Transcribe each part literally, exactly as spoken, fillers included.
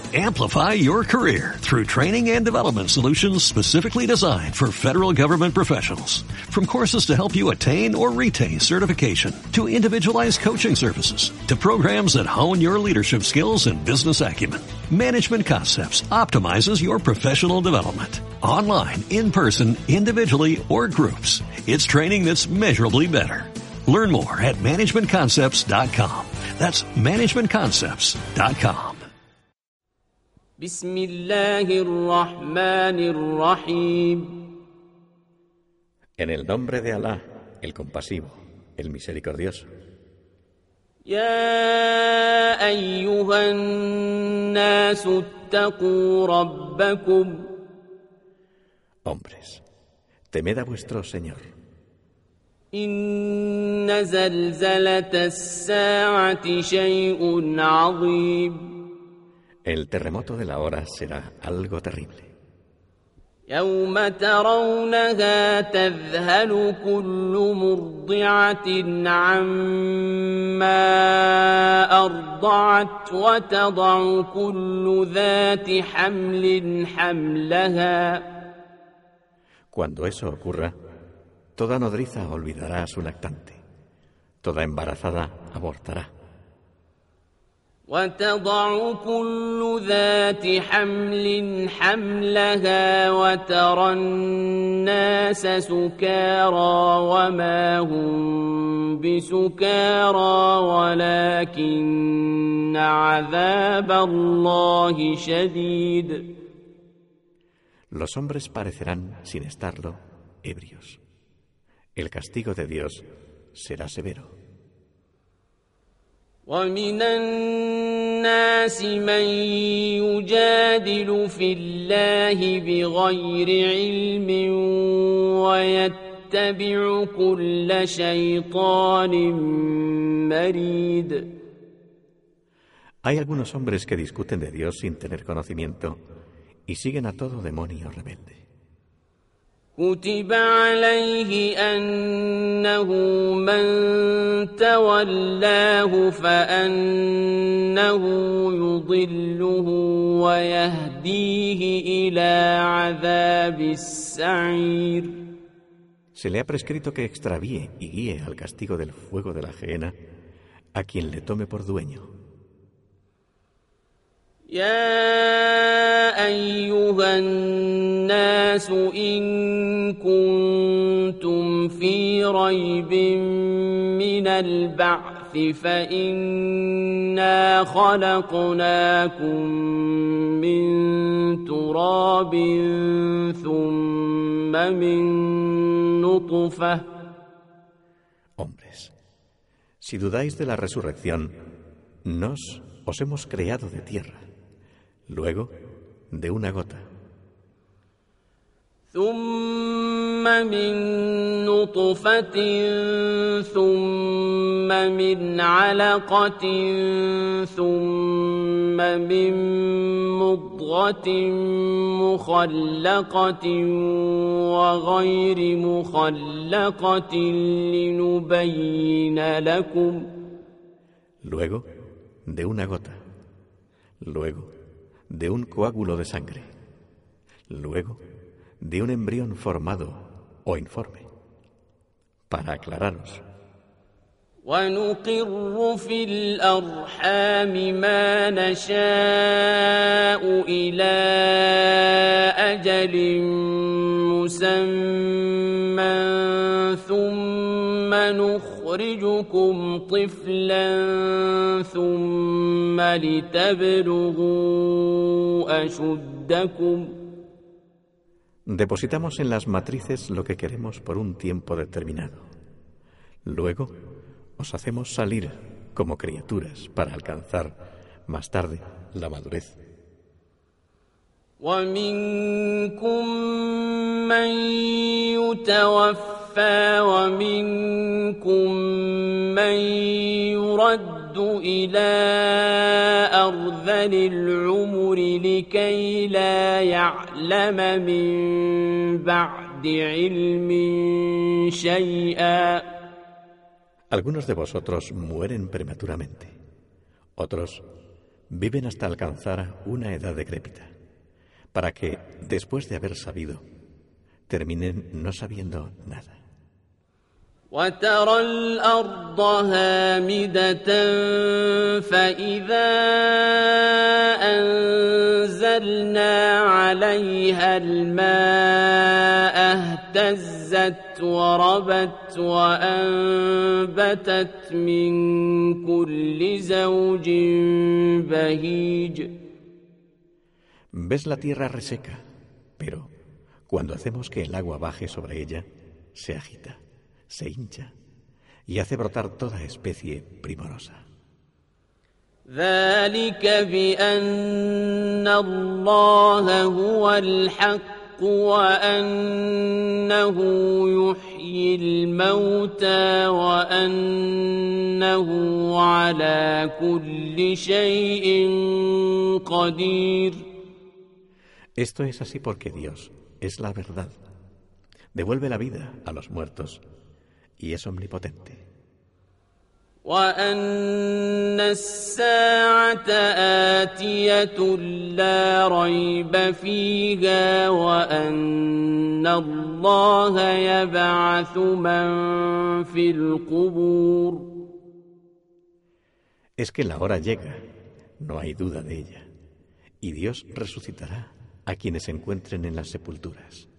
Amplify your career through training and development solutions specifically designed for federal government professionals. From courses to help you attain or retain certification, to individualized coaching services, to programs that hone your leadership skills and business acumen, Management Concepts optimizes your professional development. Online, in person, individually, or groups, it's training that's measurably better. Learn more at management concepts dot com. That's management concepts dot com. بسم الله الرحمن الرحيم. En el nombre de Alá, el compasivo, el misericordioso. يا أيها الناس اتقوا ربكم. Hombres, temed a vuestro Señor. إن زلزلة الساعة شيء عظيم. El terremoto de la hora será algo terrible. يوم ترونها تذهل كل مرضعة عما أرضعت وتضع كل ذات حمل حملها. Cuando eso ocurra, toda nodriza olvidará a su lactante, toda embarazada abortará. وتضع كل ذات حمل حملها وترى الناس سكارى وما هم بسكارى ولكن عذاب الله شديد. Los hombres parecerán, sin estarlo, ebrios. El castigo de Dios será severo. ومن الناس من يجادل في الله بغير علم ويتبع كل شيطان مريد. Hay algunos hombres que discuten de Dios sin tener conocimiento y siguen a todo demonio rebelde. كتب عليه أنه من تولاه فأنه يضله ويهديه إلى عذاب السعير. Se le ha prescrito que extravíe y guíe al castigo del fuego de la gehenna a quien le tome por dueño. يا أيها الناس إن كنتم في ريب من البعث فإنا خلقناكم من تراب ثم من نطفة. Hombres, si dudáis de la resurrección, nos os hemos creado de tierra, luego de una gota, ثم من نطفة ثم من علقة ثم من مضغة مخلقة وغير مخلقة لنبين لكم. luego de una gota, luego de un coágulo de sangre, luego de un embrión formado o informe, para aclararos. ونقر في الأرحام ما نشاء إلى أجل مسمى ثم نخرجكم طفلا ثم لتبلغوا أشدكم. Depositamos en las matrices lo que queremos por un tiempo determinado. Luego os hacemos salir como criaturas para alcanzar más tarde la madurez. ومنكم من يتوفى ومنكم من يرد إلى أرذل العمر لكي لا يعلم من بعد علم شيئا. Algunos de vosotros mueren prematuramente, otros viven hasta alcanzar una edad decrépita, para que, después de haber sabido, terminen no sabiendo nada. وترى الأرض هامدة فإذا أنزلنا عليها الماء اهتزت وربت وأنبتت من كل زوج بهيج. Ves la tierra reseca, pero cuando hacemos que el agua baje sobre ella, se agita, se hincha y hace brotar toda especie primorosa. ذلك بأن الله هو الحق وأنه يحيي الموتى وأنه على كل شيء قدير. Esto es así porque Dios es la verdad. Devuelve la vida a los muertos y es omnipotente. وأن الساعة آتية لا ريب فيها وأن الله يبعث من في القبور. Es que la hora llega, no hay duda de ella, y Dios resucitará a quienes se encuentren en las sepulturas.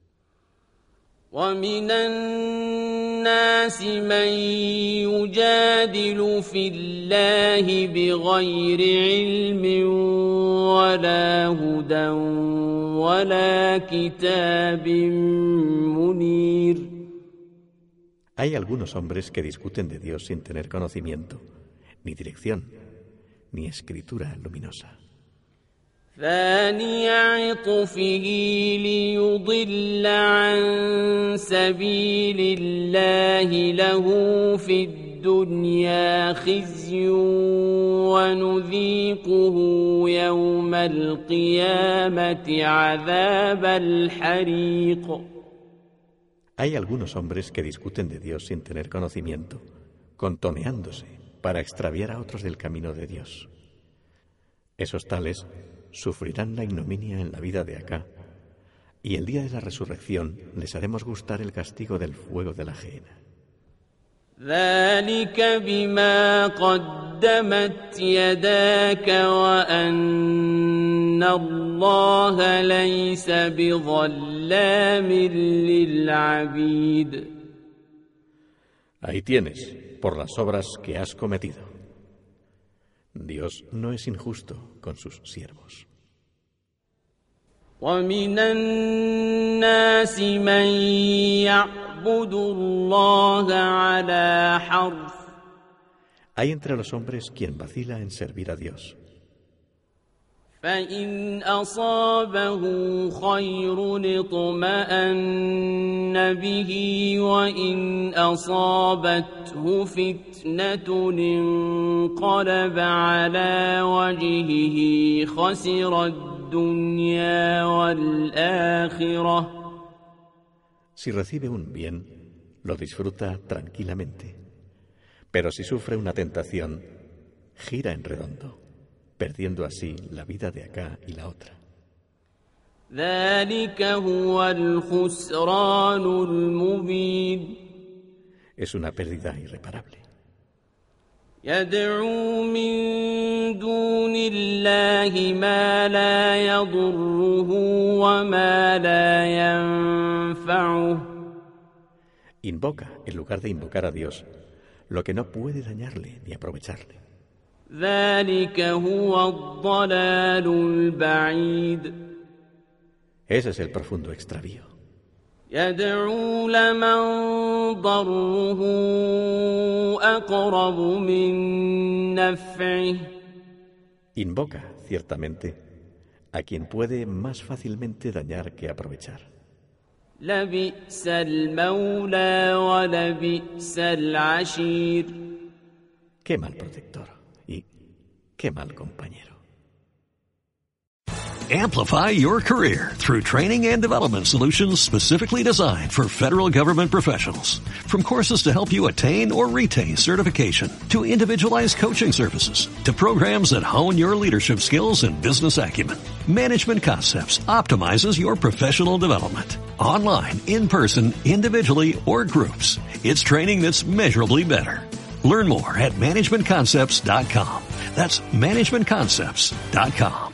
ومن الناس من يجادل في الله بغير علم ولا هدى ولا كتاب منير. Hay algunos hombres que discuten de Dios sin tener conocimiento, ni dirección, ni escritura luminosa. ثاني عطفه ليضل عن سبيل الله له في الدنيا خزي ونذيقه يوم القيامة عذاب الحريق. Hay algunos hombres que discuten de Dios sin tener conocimiento, contoneándose para extraviar a otros del camino de Dios. Esos tales sufrirán la ignominia en la vida de acá, y el día de la resurrección les haremos gustar el castigo del fuego de la gehenna. ذلك بما قدمت يداك وأن الله ليس بظلام للعبيد. Ahí tienes, por las obras que has cometido. Dios no es injusto con sus siervos. ومن الناس من يعبد الله على حرف. Hay entre los hombres quien vacila en servir a Dios. فإن أصابه خير اطمأن به وإن أصابته فتنة انقلب على وجهه خسر الدنيا والآخرة. Si recibe un bien, lo disfruta tranquilamente. Pero si sufre una tentación, gira en redondo, perdiendo así la vida de acá y la otra. ذلك هو الخسران المبين. Es una pérdida irreparable. يدعو من دون الله ما لا يضره وما لا ينفعه. Invoca, en lugar de invocar a Dios, lo que no puede dañarle ni aprovecharle. ذلك هو الضلال البعيد. Ese es el profundo extravío. يدعو لمن ضره أقرب من نفعه. Invoca, ciertamente, a quien puede más fácilmente dañar que aprovechar. لبئس المولى ولبئس العشير. Qué mal protector y qué mal compañero. Amplify your career through training and development solutions specifically designed for federal government professionals. From courses to help you attain or retain certification, to individualized coaching services, to programs that hone your leadership skills and business acumen, Management Concepts optimizes your professional development. Online, in person, individually, or groups, it's training that's measurably better. Learn more at management concepts dot com. That's management concepts dot com.